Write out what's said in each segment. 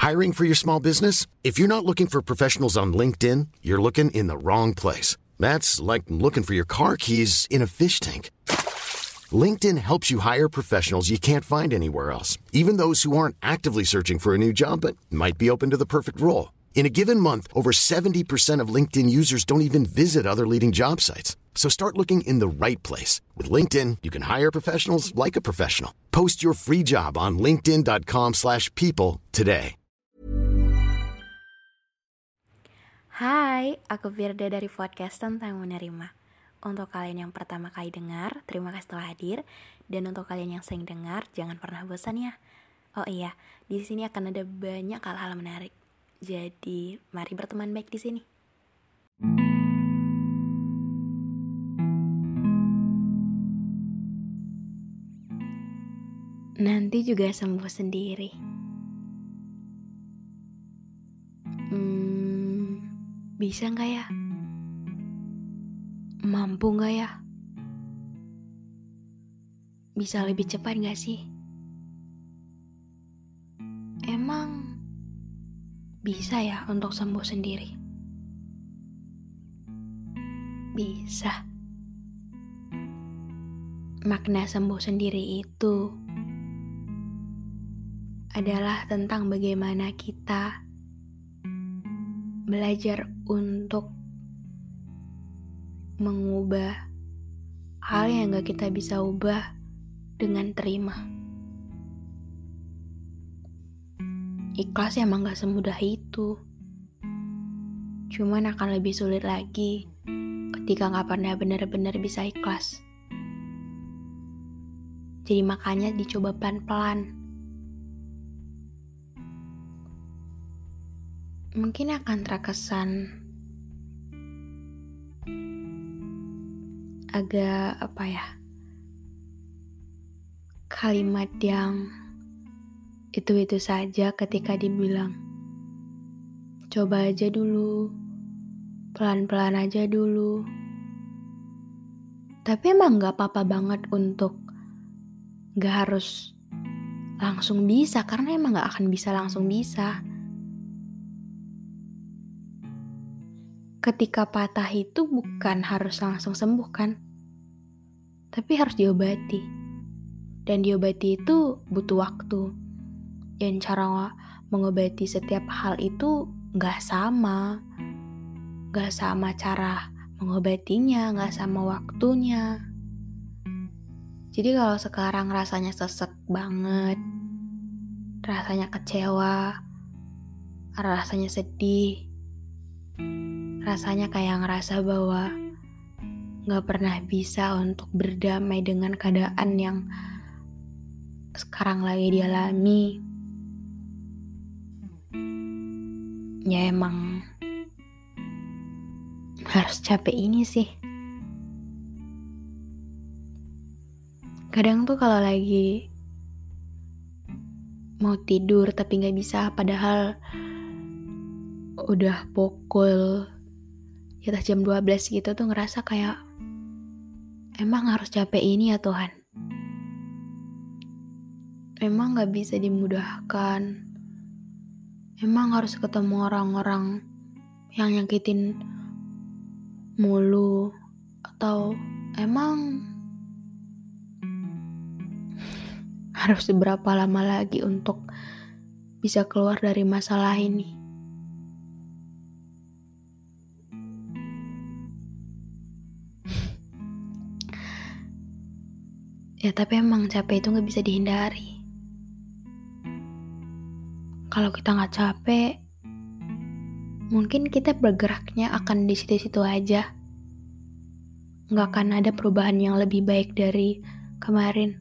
Hiring for your small business? If you're not looking for professionals on LinkedIn, you're looking in the wrong place. That's like looking for your car keys in a fish tank. LinkedIn helps you hire professionals you can't find anywhere else, even those who aren't actively searching for a new job but might be open to the perfect role. In a given month, over 70% of LinkedIn users don't even visit other leading job sites. So start looking in the right place. With LinkedIn, you can hire professionals like a professional. Post your free job on linkedin.com/people today. Hai, aku Firda dari podcast Tentang Menerima. Untuk kalian yang pertama kali dengar, terima kasih telah hadir. Dan untuk kalian yang sering dengar, jangan pernah bosan ya. Oh iya, di sini akan ada banyak hal-hal menarik. Jadi, mari berteman baik di sini. Nanti juga sembuh sendiri. Bisa gak ya? Mampu gak ya? Bisa lebih cepat gak sih? Emang bisa ya untuk sembuh sendiri? Bisa. Makna sembuh sendiri itu adalah tentang bagaimana kita belajar untuk mengubah hal yang gak kita bisa ubah dengan terima. Ikhlas emang gak semudah itu. Cuman akan lebih sulit lagi ketika gak pernah benar-benar bisa ikhlas. Jadi makanya dicoba pelan-pelan. Mungkin akan terkesan agak kalimat yang itu saja ketika dibilang coba aja dulu, pelan-pelan aja dulu. Tapi emang gak apa-apa banget untuk gak harus langsung bisa, karena emang gak akan bisa langsung bisa. Ketika patah itu bukan harus langsung sembuh kan, tapi harus diobati. Dan diobati itu butuh waktu. Dan cara mengobati setiap hal itu gak sama. Gak sama cara mengobatinya, gak sama waktunya. Jadi kalau sekarang rasanya sesek banget, rasanya kecewa, rasanya sedih, rasanya kayak ngerasa bahwa gak pernah bisa untuk berdamai dengan keadaan yang sekarang lagi dialami. Ya emang harus capek ini sih. Kadang tuh kalau lagi mau tidur tapi gak bisa, padahal udah pukul di atas jam 12 gitu tuh ngerasa kayak emang harus capek ini ya Tuhan. Emang gak bisa dimudahkan. Emang harus ketemu orang-orang yang nyakitin mulu. Atau emang harus seberapa lama lagi untuk bisa keluar dari masalah ini. Ya tapi emang capek itu gak bisa dihindari. Kalau kita gak capek, mungkin kita bergeraknya akan di situ-situ aja. Gak akan ada perubahan yang lebih baik dari kemarin.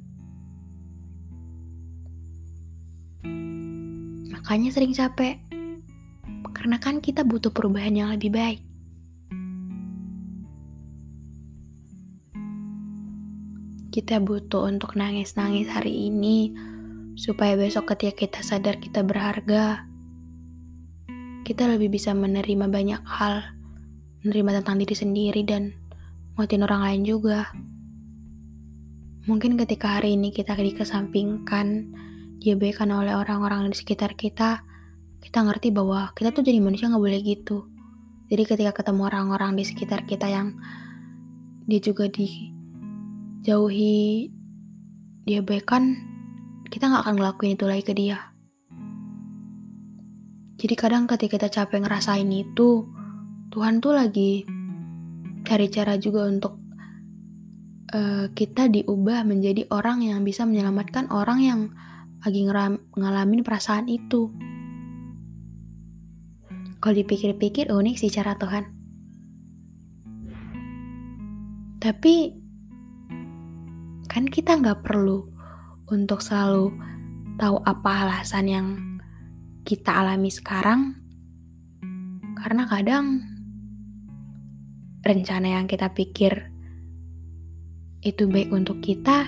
Makanya sering capek. Karena kan kita butuh perubahan yang lebih baik. Kita butuh untuk nangis-nangis hari ini, supaya besok ketika kita sadar kita berharga, kita lebih bisa menerima banyak hal, menerima tentang diri sendiri dan nguatin orang lain juga. Mungkin ketika hari ini kita dikesampingkan, diabaikan oleh orang-orang di sekitar kita, kita ngerti bahwa kita tuh jadi manusia gak boleh gitu. Jadi ketika ketemu orang-orang di sekitar kita yang dia juga dijauhi, diabaikan, kita gak akan ngelakuin itu lagi ke dia. Jadi kadang ketika kita capek ngerasain itu, Tuhan tuh lagi cari cara juga untuk kita diubah menjadi orang yang bisa menyelamatkan orang yang lagi ngalamin perasaan itu. Kalau dipikir-pikir unik sih cara Tuhan. Tapi kan kita gak perlu untuk selalu tahu apa alasan yang kita alami sekarang. Karena kadang rencana yang kita pikir itu baik untuk kita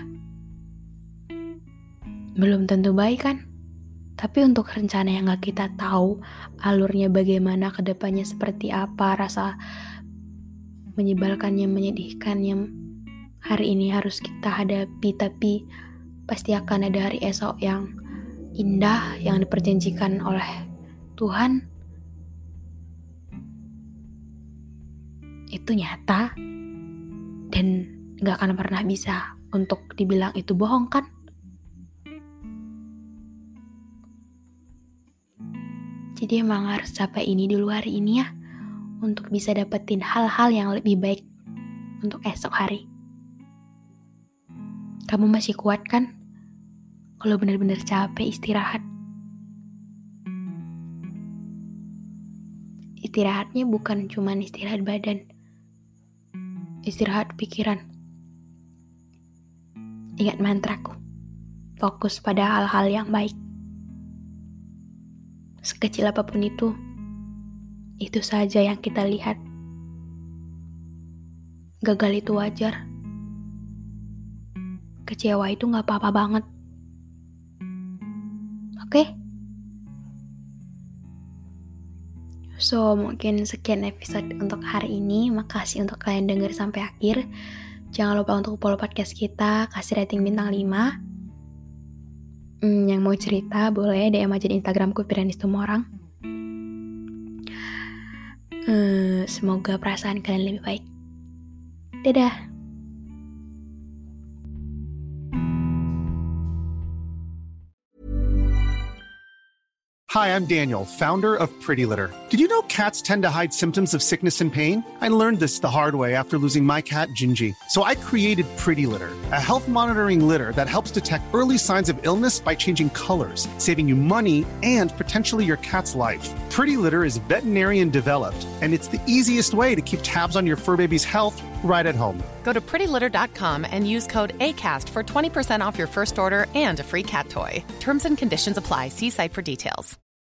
belum tentu baik kan. Tapi untuk rencana yang gak kita tahu alurnya bagaimana, kedepannya seperti apa, rasa menyebalkannya, menyedihkannya hari ini harus kita hadapi, tapi pasti akan ada hari esok yang indah yang diperjanjikan oleh Tuhan. Itu nyata dan gak akan pernah bisa untuk dibilang itu bohong kan. Jadi emang harus capai ini dulu hari ini ya, untuk bisa dapetin hal-hal yang lebih baik untuk esok hari. Kamu masih kuat kan? Kalau benar-benar capek, istirahat. Istirahatnya bukan cuma istirahat badan, istirahat pikiran. Ingat mantraku, fokus pada hal-hal yang baik. Sekecil apapun itu saja yang kita lihat. Gagal itu wajar. Kecewa itu gak apa-apa banget. Oke? So, mungkin sekian episode untuk hari ini. Makasih untuk kalian denger sampai akhir. Jangan lupa untuk follow podcast kita, kasih rating bintang 5. Yang mau cerita boleh DM aja di Instagramku Piranis Tumorang. Semoga perasaan kalian lebih baik. Dadah. Hi, I'm Daniel, founder of Pretty Litter. Did you know cats tend to hide symptoms of sickness and pain? I learned this the hard way after losing my cat, Gingy. So I created Pretty Litter, a health monitoring litter that helps detect early signs of illness by changing colors, saving you money and potentially your cat's life. Pretty Litter is veterinarian developed, and it's the easiest way to keep tabs on your fur baby's health right at home. Go to prettylitter.com and use code ACAST for 20% off your first order and a free cat toy. Terms and conditions apply. See site for details.